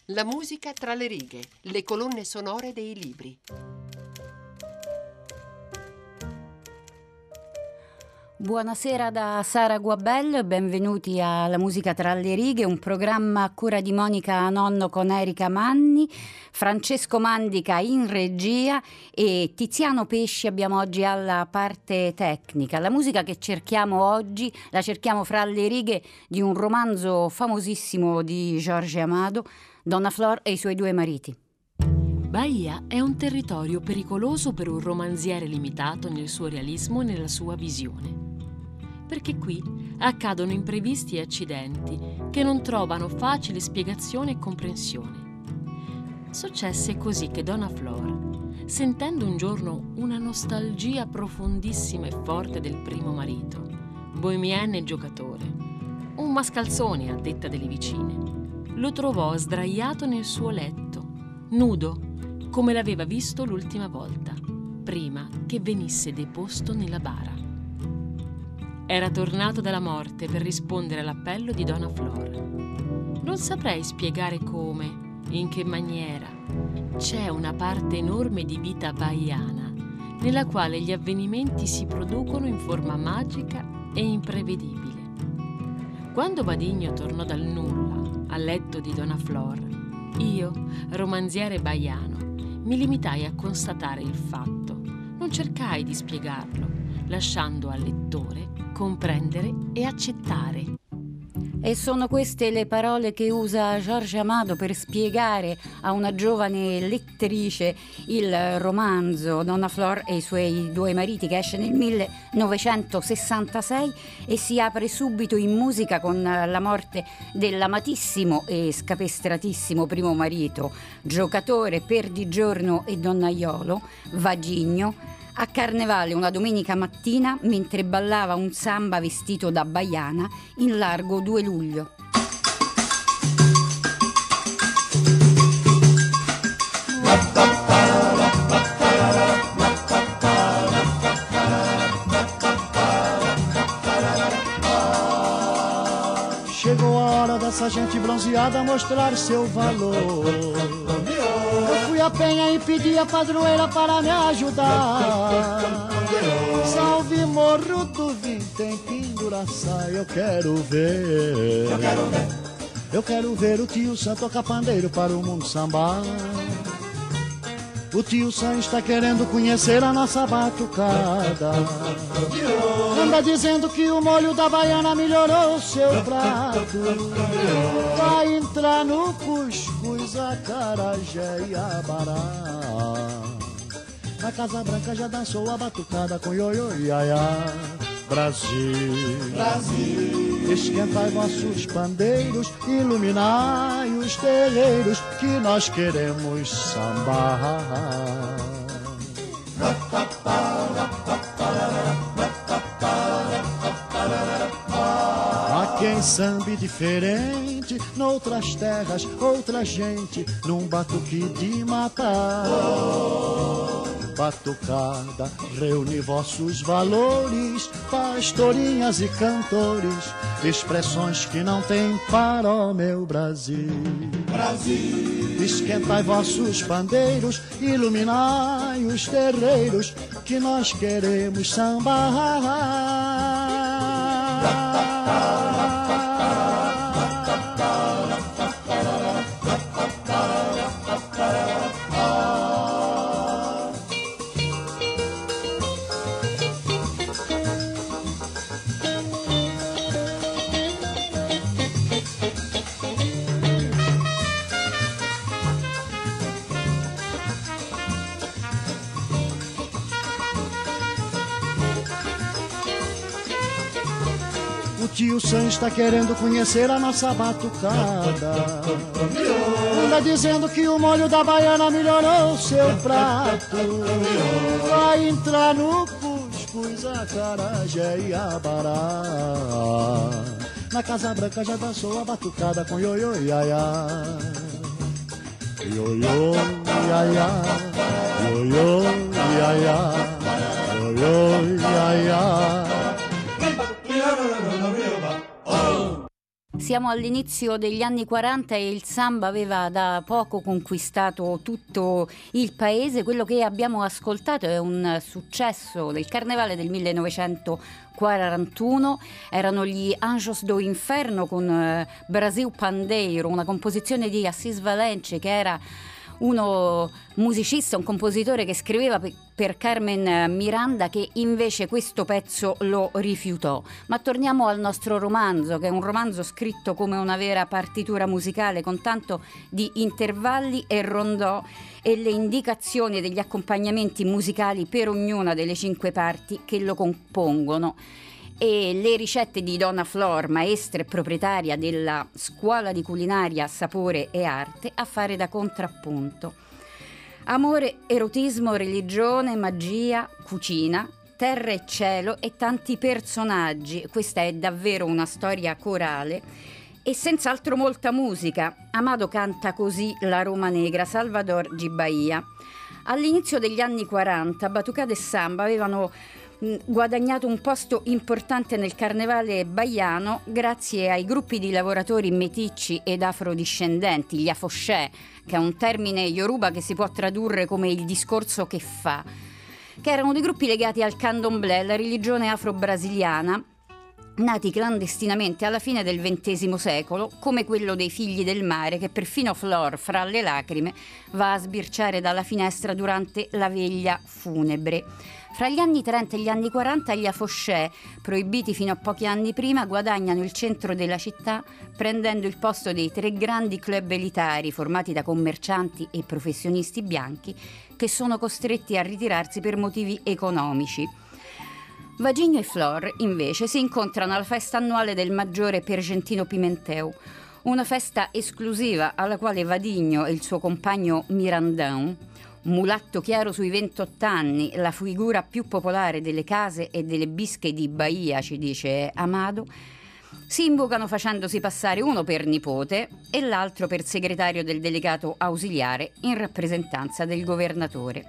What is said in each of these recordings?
La musica tra le righe, le colonne sonore dei libri. Buonasera da Sara Guabel, benvenuti a La musica tra le righe, un programma a cura di Monica Nonno con Erika Manni, Francesco Mandica in regia e Tiziano Pesci abbiamo oggi alla parte tecnica. La musica che cerchiamo oggi la cerchiamo fra le righe di un romanzo famosissimo di Jorge Amado, Donna Flor e i suoi due mariti. Bahia è un territorio pericoloso per un romanziere limitato nel suo realismo e nella sua visione. Perché qui accadono imprevisti e accidenti che non trovano facile spiegazione e comprensione. Successe così che Donna Flor, sentendo un giorno una nostalgia profondissima e forte del primo marito, bohemienne e giocatore, un mascalzone a detta delle vicine, lo trovò sdraiato nel suo letto, nudo, come l'aveva visto l'ultima volta, prima che venisse deposto nella bara. Era tornato dalla morte per rispondere all'appello di Donna Flor. Non saprei spiegare come, in che maniera. C'è una parte enorme di vita bahiana, nella quale gli avvenimenti si producono in forma magica e imprevedibile. Quando Badigno tornò dal nulla al letto di Donna Flor, io, romanziere bahiano, mi limitai a constatare il fatto, non cercai di spiegarlo, lasciando al lettore comprendere e accettare. E sono queste le parole che usa Jorge Amado per spiegare a una giovane lettrice il romanzo Donna Flor e i suoi due mariti, che esce nel 1966 e si apre subito in musica con la morte dell'amatissimo e scapestratissimo primo marito, giocatore, perdigiorno e donnaiolo, Vagigno, a Carnevale una domenica mattina mentre ballava un samba vestito da baiana in largo 2 luglio. Chegou a hora dessa gente bronzeada mostrar seu valor. Eu fui a penha e pedi a padroeira para me ajudar. Salve morro do vintém, penduraçá, eu quero ver. Eu quero ver o tio Sam tocar pandeiro para o mundo sambar. O tio Sam está querendo conhecer a nossa batucada. Anda dizendo que o molho da baiana melhorou o seu prato. Vai entrar no cuscuz, acarajé e abará. Na Casa Branca já dançou a batucada com ioiô e iaiá. Brasil, Brasil, esquentai vossos pandeiros, iluminai os terreiros que nós queremos sambar. Há quem sambe diferente, noutras terras, outra gente, num batuque de matar. Batucada, reúne vossos valores, pastorinhas e cantores, expressões que não tem para o meu Brasil. Brasil, esquentai vossos pandeiros, iluminai os terreiros, que nós queremos sambar. O tio Sam está querendo conhecer a nossa batucada. Anda dizendo que o molho da baiana melhorou o seu prato. Vai entrar no cuscuz, acarajé e abará. Na Casa Branca já dançou a batucada com ioiô e iaiá. Ioiô e iaiá, ioiô e iaiá, ioiô e iaiá. Siamo all'inizio degli anni 40 e il samba aveva da poco conquistato tutto il paese. Quello che abbiamo ascoltato è un successo del Carnevale del 1941, erano gli Anjos do Inferno con Brasil Pandeiro, una composizione di Assis Valence, che era uno musicista, un compositore che scriveva per Carmen Miranda, che invece questo pezzo lo rifiutò. Ma torniamo al nostro romanzo, che è un romanzo scritto come una vera partitura musicale, con tanto di intervalli e rondò e le indicazioni degli accompagnamenti musicali per ognuna delle 5 parti che lo compongono. E le ricette di Donna Flor, maestra e proprietaria della scuola di culinaria Sapore e Arte, a fare da contrappunto. Amore, erotismo, religione, magia, cucina, terra e cielo e tanti personaggi. Questa è davvero una storia corale e senz'altro molta musica. Amado canta così la Roma Negra, Salvador G. Bahia. All'inizio degli anni 40 Batucada e Samba avevano guadagnato un posto importante nel carnevale baiano grazie ai gruppi di lavoratori meticci ed afrodiscendenti, gli afoshè, che è un termine yoruba che si può tradurre come il discorso che fa, che erano dei gruppi legati al candomblé, la religione afro-brasiliana, nati clandestinamente alla fine del XX secolo, come quello dei Figli del Mare, che perfino Flor, fra le lacrime, va a sbirciare dalla finestra durante la veglia funebre. Fra gli anni 30 e gli anni 40 gli afoshè, proibiti fino a pochi anni prima, guadagnano il centro della città prendendo il posto dei 3 grandi club elitari formati da commercianti e professionisti bianchi che sono costretti a ritirarsi per motivi economici. Vagigno e Flor, invece, si incontrano alla festa annuale del maggiore Pergentino Pimenteu, una festa esclusiva alla quale Vadigno e il suo compagno Mirandão, mulatto chiaro sui 28 anni, la figura più popolare delle case e delle bische di Bahia, ci dice Amado, si invocano facendosi passare uno per nipote e l'altro per segretario del delegato ausiliare in rappresentanza del governatore.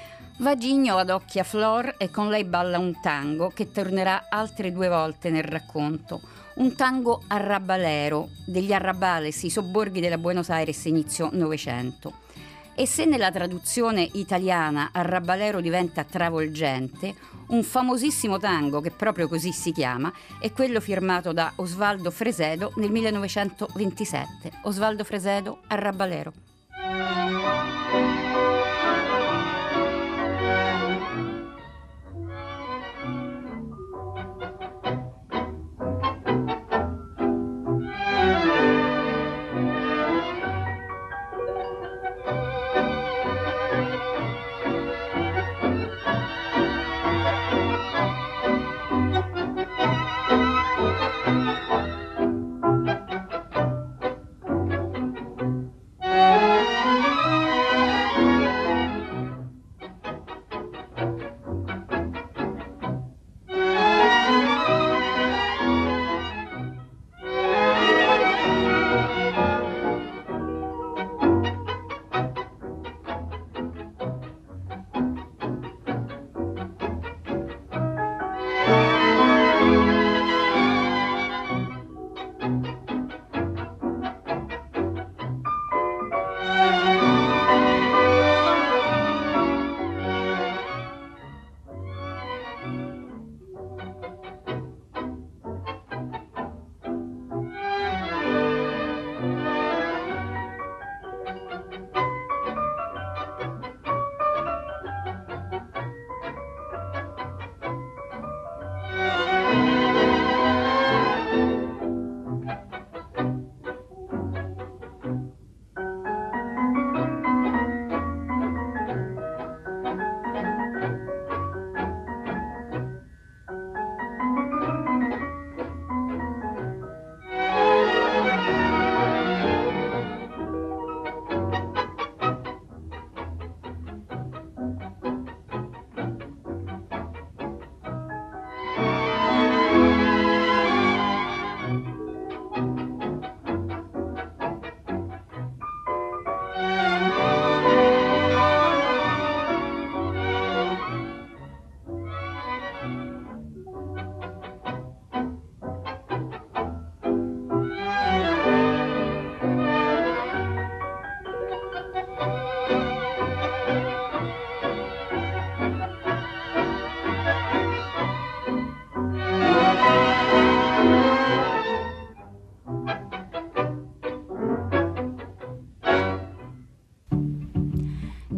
Vagigno adocchia Flor e con lei balla un tango che tornerà altre 2 volte nel racconto. Un tango arrabalero, degli arrabales, i sobborghi della Buenos Aires inizio Novecento. E se nella traduzione italiana arrabalero diventa travolgente, un famosissimo tango che proprio così si chiama è quello firmato da Osvaldo Fresedo nel 1927. Osvaldo Fresedo, Arrabalero.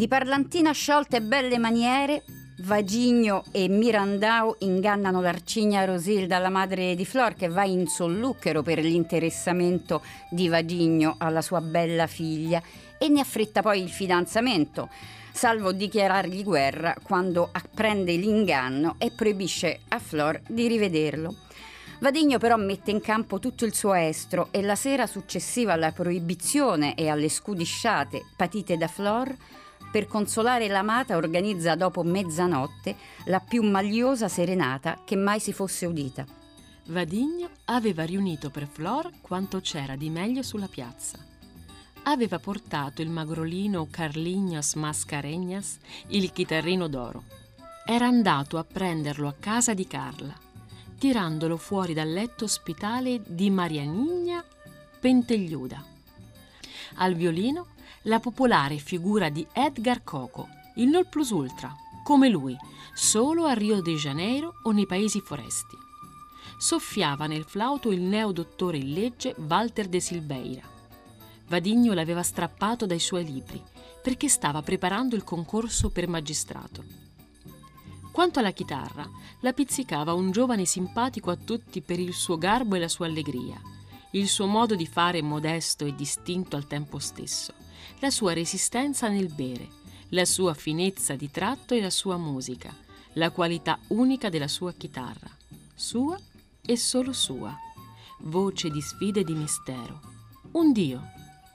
Di parlantina sciolta e belle maniere, Vagigno e Mirandau ingannano l'Arcigna Rosilda, la madre di Flor, che va in solluchero per l'interessamento di Vagigno alla sua bella figlia, e ne affretta poi il fidanzamento, salvo dichiarargli guerra quando apprende l'inganno e proibisce a Flor di rivederlo. Vadigno però mette in campo tutto il suo estro e la sera successiva alla proibizione e alle scudisciate patite da Flor, per consolare l'amata organizza dopo mezzanotte la più magliosa serenata che mai si fosse udita. Vadigno aveva riunito per Flor quanto c'era di meglio sulla piazza. Aveva portato il magrolino Carlignas Mascarenhas, il chitarrino d'oro. Era andato a prenderlo a casa di Carla, tirandolo fuori dal letto ospitale di Marianigna Pentegliuda. Al violino la popolare figura di Edgar Coco, il non plus ultra, come lui, solo a Rio de Janeiro o nei paesi foresti. Soffiava nel flauto il neodottore in legge Walter de Silveira. Vadigno l'aveva strappato dai suoi libri perché stava preparando il concorso per magistrato. Quanto alla chitarra, la pizzicava un giovane simpatico a tutti per il suo garbo e la sua allegria, il suo modo di fare modesto e distinto al tempo stesso, la sua resistenza nel bere, la sua finezza di tratto e la sua musica, la qualità unica della sua chitarra, sua e solo sua, voce di sfida e di mistero, un dio.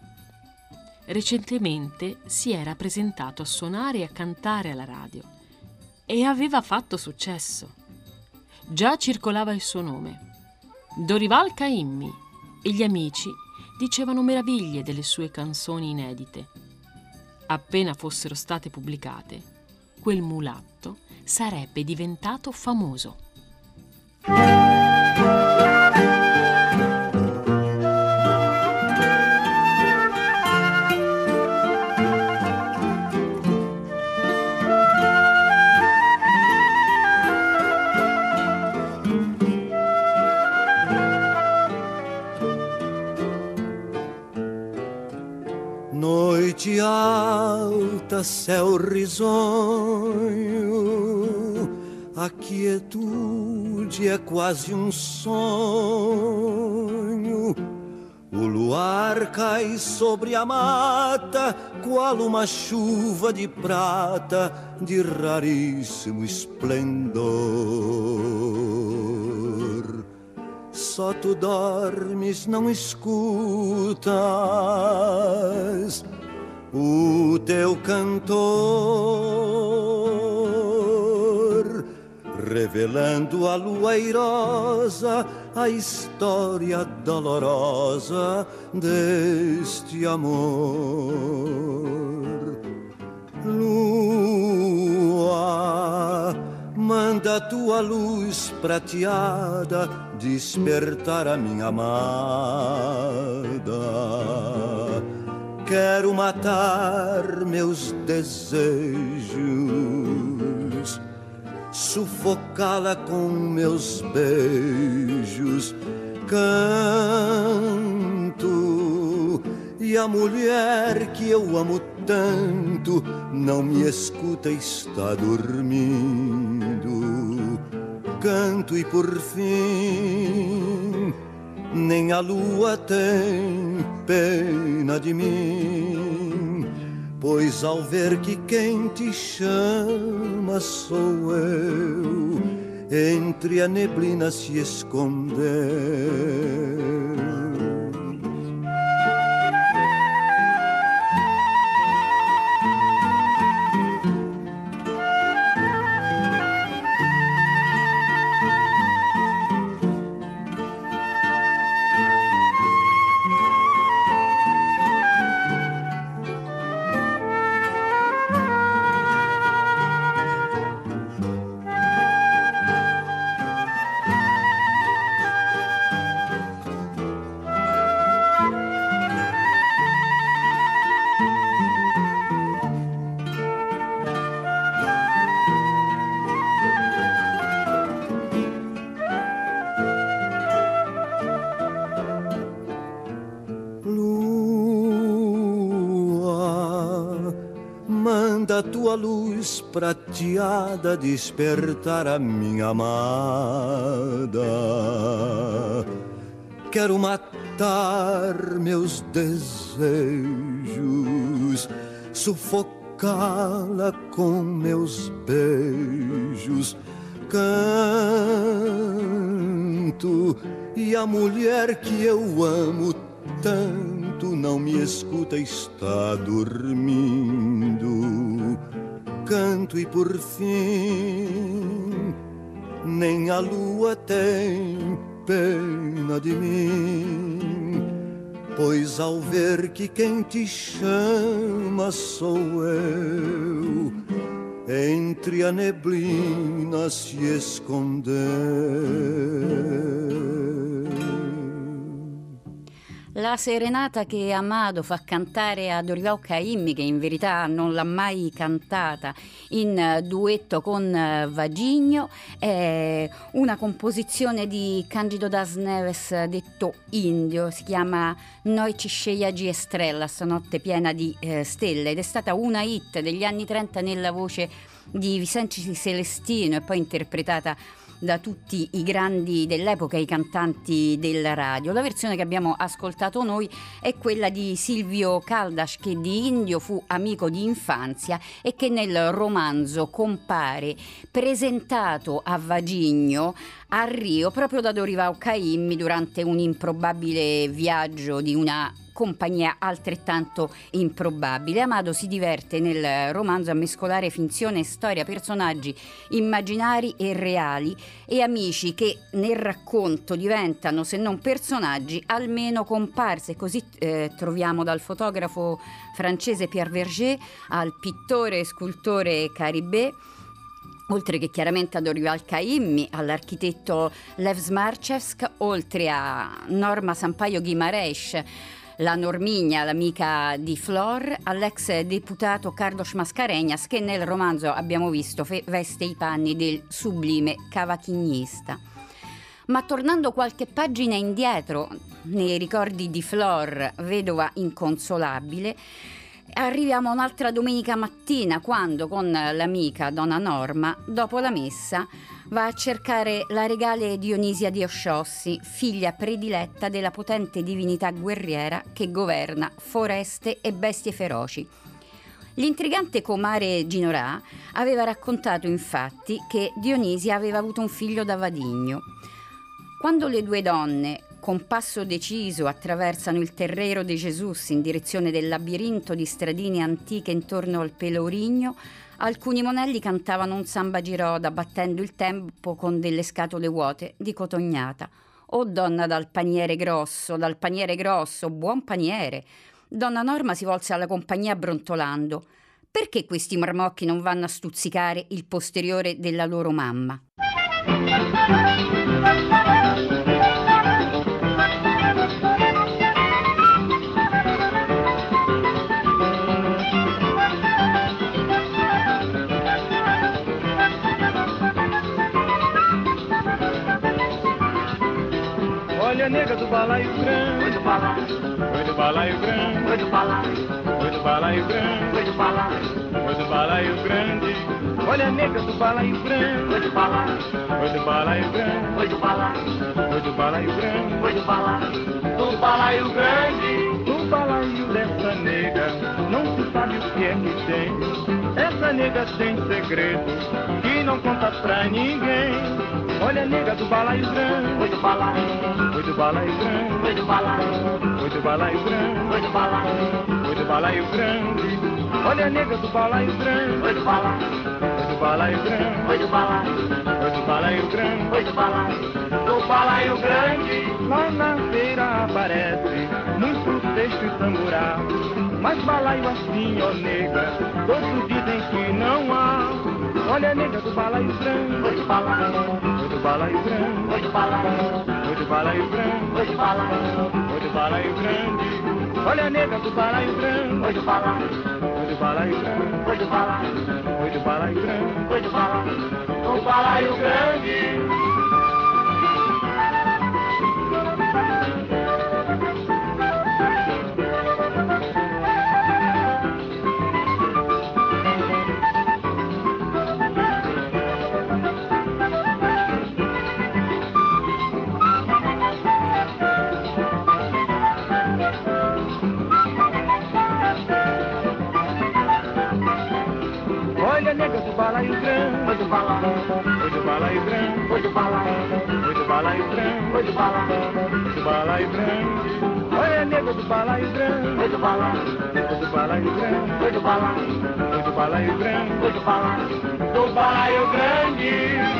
Recentemente si era presentato a suonare e a cantare alla radio e aveva fatto successo. Già circolava il suo nome, Dorival Caymmi, e gli amici dicevano meraviglie delle sue canzoni inedite. Appena fossero state pubblicate, quel mulatto sarebbe diventato famoso. Noite alta, céu risonho, a quietude é quase sonho. O luar cai sobre a mata, qual uma chuva de prata, de raríssimo esplendor. Só tu dormes, não escutas o teu cantor, revelando a lua airosa a história dolorosa deste amor. Lua, manda tua luz prateada despertar a minha amada. Quero matar meus desejos, sufocá-la com meus beijos. Canto, e a mulher que eu amo tanto não me escuta, está dormindo. Canto e por fim nem a lua tem pena de mim, pois ao ver que quem te chama sou eu, entre a neblina se escondeu. da tua luz prateada despertar a minha amada. Quero matar meus desejos, sufocá-la com meus beijos. Canto e a mulher que eu amo tanto não me escuta, está dormindo. Canto e por fim nem a lua tem pena de mim, pois ao ver que quem te chama sou eu, entre a neblina se escondeu. La serenata che Amado fa cantare a Dorival Caymmi, che in verità non l'ha mai cantata, in duetto con Vagigno, è una composizione di Cândido das Neves detto Indio, si chiama Noite cheia de estrelas, notte piena di stelle, ed è stata una hit degli anni 30 nella voce di Vicente Celestino e poi interpretata da tutti i grandi dell'epoca, i cantanti della radio. La versione che abbiamo ascoltato noi è quella di Silvio Caldas, che di Indio fu amico di infanzia e che nel romanzo compare presentato a Vagigno a Rio proprio da Dorival Caymmi durante un improbabile viaggio di una compagnia altrettanto improbabile. Amado si diverte nel romanzo a mescolare finzione e storia, personaggi immaginari e reali e amici che nel racconto diventano, se non personaggi, almeno comparse. Così troviamo dal fotografo francese Pierre Verger al pittore e scultore Caribé, oltre che chiaramente a Dorival Caymmi, all'architetto Lev Smarchevsk, oltre a Norma Sampaio Guimarães, la Normigna, l'amica di Flor, all'ex deputato Carlos Mascarenhas, che nel romanzo abbiamo visto veste i panni del sublime cavachignista. Ma tornando qualche pagina indietro nei ricordi di Flor, vedova inconsolabile, arriviamo un'altra domenica mattina, quando con l'amica Donna Norma, dopo la messa, va a cercare la regale Dionisia di Osciossi, figlia prediletta della potente divinità guerriera che governa foreste e bestie feroci. L'intrigante comare Ginorà aveva raccontato infatti che Dionisia aveva avuto un figlio da Vadigno. Quando le due donne, con passo deciso, attraversano il Terreiro de Jesus in direzione del labirinto di stradine antiche intorno al Pelourinho, alcuni monelli cantavano un samba giroda battendo il tempo con delle scatole vuote di cotognata. «Oh donna dal paniere grosso, buon paniere!» Donna Norma si volse alla compagnia brontolando. «Perché questi marmocchi non vanno a stuzzicare il posteriore della loro mamma?» Olha a nega do balaio grande, oi do balaio grande, oi do balaio grande, oi do balaio grande. Olha a nega do balaio grande, oi do balaio grande, oi do balaio grande, oi do balaio grande. No balaio dessa nega não se sabe o que é que tem. Essa nega tem segredo que não conta pra ninguém. Olha a nega do balaio grande, oi do balaio grande, oi do balaio grande, oi do balaio grande, oi do balaio grande. Olha a nega do balaio grande, oi do balaio grande, oi do balaio grande, oi do balaio grande. Lá na feira aparece muito cesto e tamborá, mas balaio assim, ó nega, todos dizem que não há. Olha a nega do balaio grande, oi do balaio grande, oi do balaio grande, oi do balaio grande. Olha a nega do balaio grande, oi do balaio grande, oi do balaio grande, oi do balaio grande. balaio grande, oi do balaio grande, oi do balaio grande, oi do balaio grande. Olha a nega do balaio grande, oi do balaio grande, oi do balaio grande, oi do balaio grande.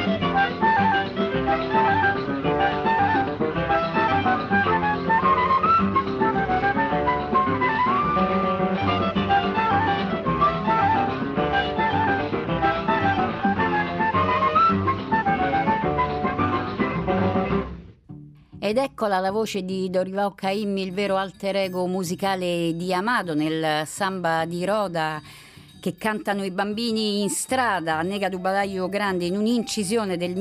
Ed eccola la voce di Dorival Caymmi, il vero alter ego musicale di Amado nel Samba di Roda che cantano i bambini in strada, Nega do Balaio Grande, in un'incisione del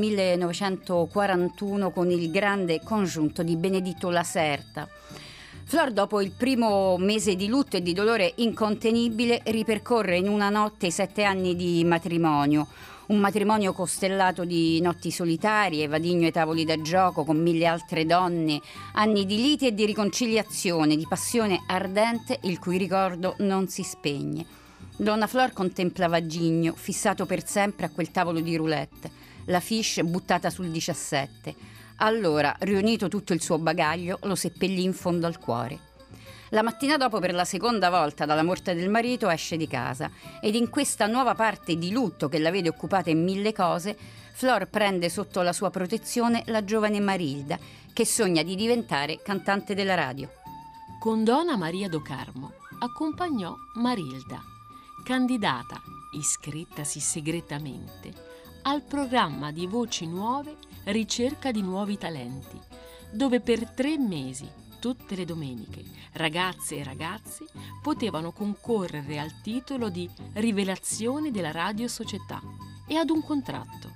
1941 con il grande congiunto di Benedetto Lacerta. Flor, dopo il primo mese di lutto e di dolore incontenibile, ripercorre in una notte i 7 anni di matrimonio. Un matrimonio costellato di notti solitarie, vadigno ai tavoli da gioco con 1000 altre donne, anni di liti e di riconciliazione, di passione ardente il cui ricordo non si spegne. Donna Flor contemplava Gigno, fissato per sempre a quel tavolo di roulette, la fiche buttata sul 17. Allora, riunito tutto il suo bagaglio, lo seppellì in fondo al cuore. La mattina dopo, per la seconda volta dalla morte del marito, esce di casa ed in questa nuova parte di lutto che la vede occupata in 1000 cose, Flor prende sotto la sua protezione la giovane Marilda, che sogna di diventare cantante della radio. Con Donna Maria do Carmo accompagnò Marilda, candidata, iscrittasi segretamente, al programma di Voci Nuove, Ricerca di Nuovi Talenti, dove per 3 mesi tutte le domeniche, ragazze e ragazzi potevano concorrere al titolo di Rivelazione della Radio Società e ad un contratto.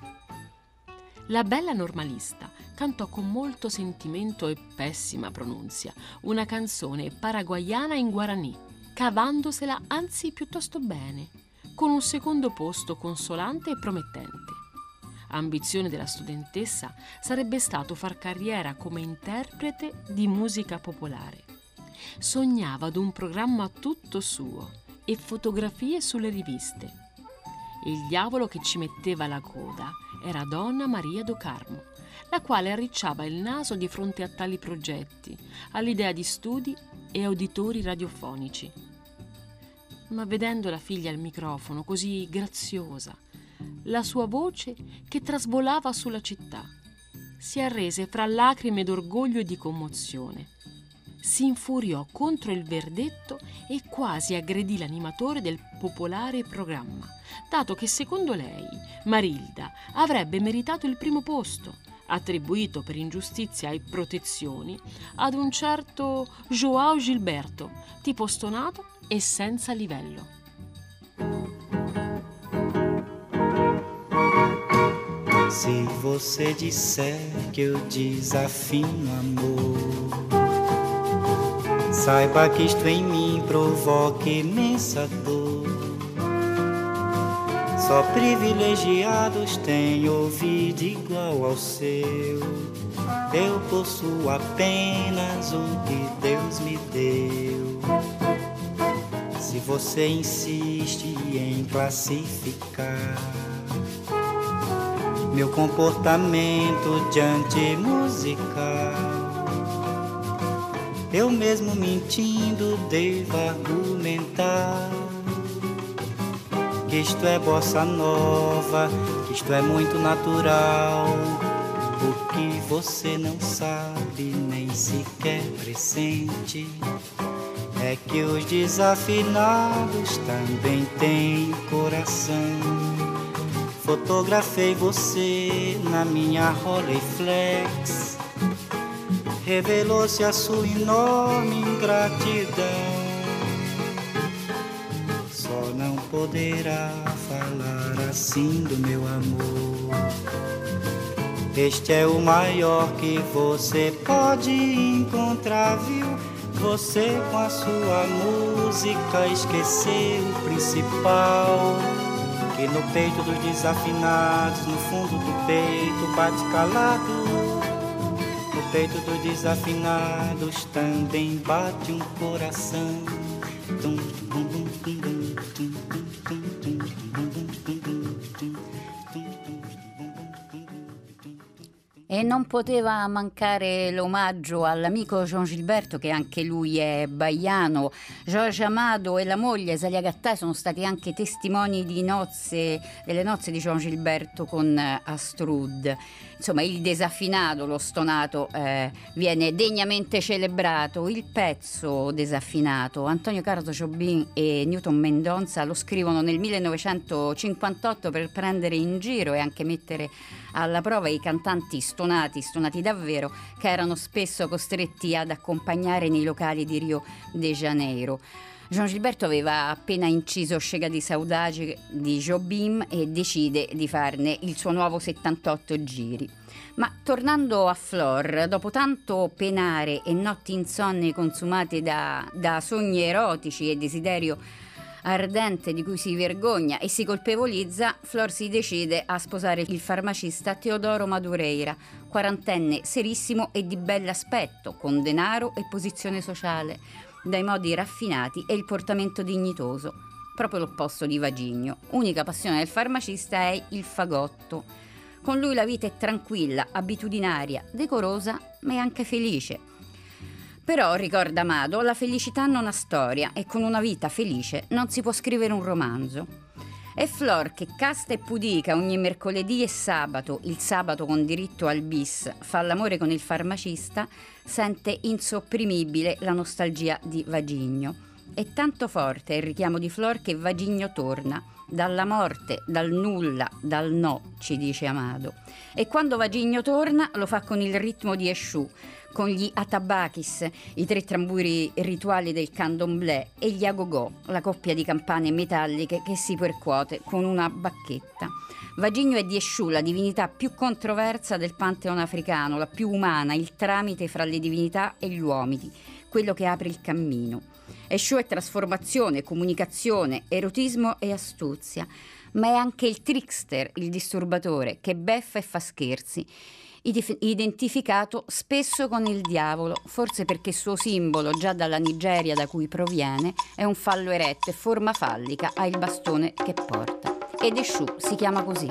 La bella normalista cantò con molto sentimento e pessima pronunzia una canzone paraguayana in guaraní, cavandosela anzi piuttosto bene, con un secondo posto consolante e promettente. Ambizione della studentessa sarebbe stato far carriera come interprete di musica popolare. Sognava ad un programma tutto suo e fotografie sulle riviste. Il diavolo che ci metteva la coda era Donna Maria do Carmo, la quale arricciava il naso di fronte a tali progetti, all'idea di studi e uditori radiofonici. Ma vedendo la figlia al microfono così graziosa, la sua voce che trasvolava sulla città, si arrese fra lacrime d'orgoglio e di commozione. Si infuriò contro il verdetto e quasi aggredì l'animatore del popolare programma, dato che secondo lei Marilda avrebbe meritato il primo posto, attribuito per ingiustizia e protezioni ad un certo João Gilberto, tipo stonato e senza livello. Se você disser que eu desafino amor, saiba que isto em mim provoca imensa dor. Só privilegiados têm ouvido igual ao seu. Eu possuo apenas um que Deus me deu. Se você insiste em classificar meu comportamento diante musical, eu mesmo mentindo devo argumentar que isto é bossa nova, que isto é muito natural. O que você não sabe nem sequer pressente é que os desafinados também têm coração. Fotografei você na minha Rolleiflex, revelou-se a sua enorme ingratidão. Só não poderá falar assim do meu amor. Este é o maior que você pode encontrar, viu? Você com a sua música esqueceu o principal, que no peito dos desafinados, no fundo do peito bate calado. No peito dos desafinados também bate um coração. Tum, tum, tum, tum, tum, tum, tum, tum, tum, tum, tum, tum. E non poteva mancare l'omaggio all'amico Jean Gilberto, che anche lui è baiano. Jorge Amado e la moglie Zalia Gattai sono stati anche testimoni delle nozze di Jean Gilberto con Astrud. Insomma, il desaffinato, lo stonato, viene degnamente celebrato. Il pezzo desaffinato, Antonio Carlos Jobim e Newton Mendonça lo scrivono nel 1958 per prendere in giro e anche mettere alla prova i cantanti stonati davvero, che erano spesso costretti ad accompagnare nei locali di Rio de Janeiro. Jean Gilberto aveva appena inciso Chega di Saudade di Jobim e decide di farne il suo nuovo 78 giri. Ma tornando a Flor, dopo tanto penare e notti insonni consumate da sogni erotici e desiderio ardente di cui si vergogna e si colpevolizza, Flor si decide a sposare il farmacista Teodoro Madureira, quarantenne serissimo e di bell'aspetto, con denaro e posizione sociale, dai modi raffinati e il portamento dignitoso, proprio l'opposto di Vagigno. Unica passione del farmacista è il fagotto. Con lui la vita è tranquilla, abitudinaria, decorosa, ma è anche felice. Però, ricorda Amado, la felicità non ha storia e con una vita felice non si può scrivere un romanzo. E Flor, che casta e pudica ogni mercoledì e sabato, il sabato con diritto al bis, fa l'amore con il farmacista, sente insopprimibile la nostalgia di Vagigno. È tanto forte il richiamo di Flor che Vagigno torna, dalla morte, dal nulla, dal no, ci dice Amado. E quando Vagigno torna lo fa con il ritmo di Esciù, con gli atabakis, i 3 tamburi rituali del candomblé, e gli agogò, la coppia di campane metalliche che si percuote con una bacchetta. Vagigno è di Esciù, la divinità più controversa del pantheon africano, la più umana, il tramite fra le divinità e gli uomini, quello che apre il cammino. Esciù è trasformazione, comunicazione, erotismo e astuzia, ma è anche il trickster, il disturbatore, che beffa e fa scherzi, identificato spesso con il diavolo, forse perché suo simbolo, già dalla Nigeria da cui proviene, è un fallo eretto e forma fallica ha il bastone che porta. Ed Esciù si chiama così.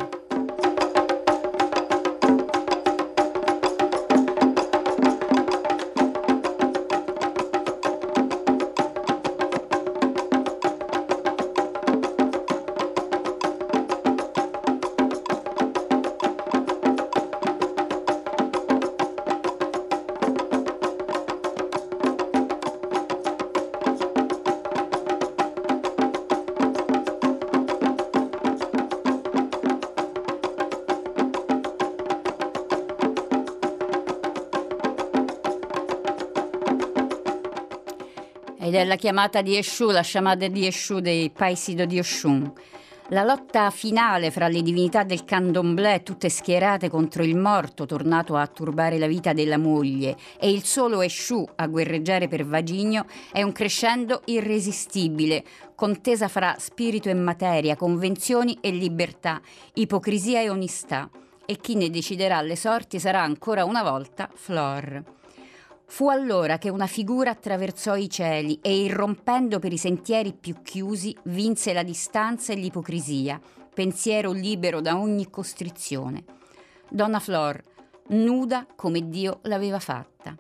Ed è la chiamata di Esciù, la sciamada di Esciù dei Paisido di Oshun. La lotta finale fra le divinità del candomblé, tutte schierate contro il morto tornato a turbare la vita della moglie, e il solo Esciù a guerreggiare per Vagigno, è un crescendo irresistibile, contesa fra spirito e materia, convenzioni e libertà, ipocrisia e onestà. E chi ne deciderà le sorti sarà ancora una volta Flor. Fu allora che una figura attraversò i cieli e, irrompendo per i sentieri più chiusi, vinse la distanza e l'ipocrisia, pensiero libero da ogni costrizione. Donna Flor, nuda come Dio l'aveva fatta.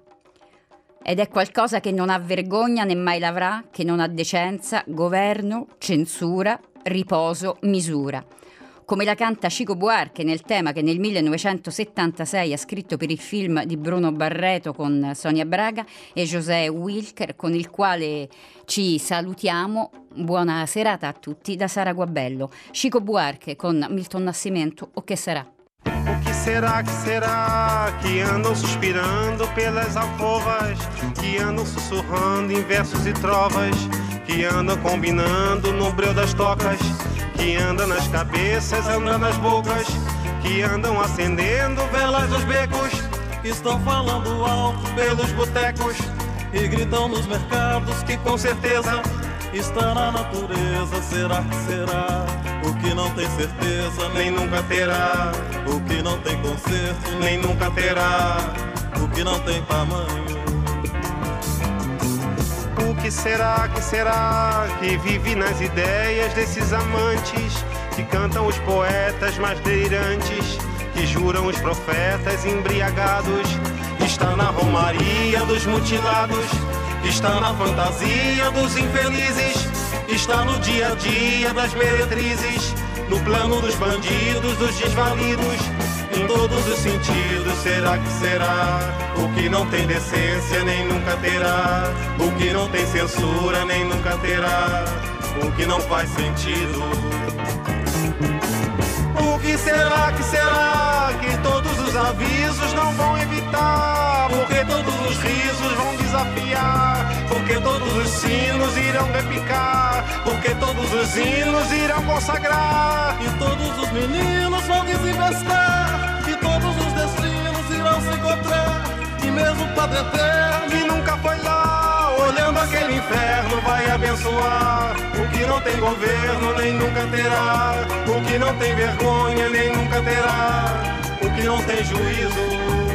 Ed è qualcosa che non ha vergogna né mai l'avrà, che non ha decenza, governo, censura, riposo, misura. Come la canta Chico Buarque nel tema che nel 1976 ha scritto per il film di Bruno Barreto con Sonia Braga e José Wilker, con il quale ci salutiamo. Buona serata a tutti da Sara Guabello. Chico Buarque con Milton Nascimento, O Che Sarà? O que será que andam suspirando pelas alcovas, que andam sussurrando em versos e trovas, que andam combinando no breu das tocas, que andam nas cabeças, andam nas bocas, que andam acendendo velas nos becos, estão falando alto pelos botecos e gritam nos mercados que com certeza está na natureza. Será que será? O que não tem certeza nem nunca terá. O que não tem conserto nem nunca terá. O que não tem tamanho. O que será que vive nas ideias desses amantes que cantam os poetas mais delirantes, que que juram os profetas embriagados. Está na romaria dos mutilados, está na fantasia dos infelizes, está no dia a dia das meretrizes, no plano dos bandidos, dos desvalidos. Em todos os sentidos, será que será? O que não tem decência nem nunca terá, o que não tem censura nem nunca terá, o que não faz sentido. O que será que todos os avisos não vão evitar? Porque todos os risos vão desafiar, porque todos os sinos irão repicar, porque todos os hinos irão consagrar, e todos os meninos vão desinvestar, e todos os destinos irão se encontrar, e mesmo o Padre Eterno que nunca foi lá, olhando aquele inferno vai abençoar. O que não tem governo nem nunca terá, o que não tem vergonha nem nunca terá, o que não tem juízo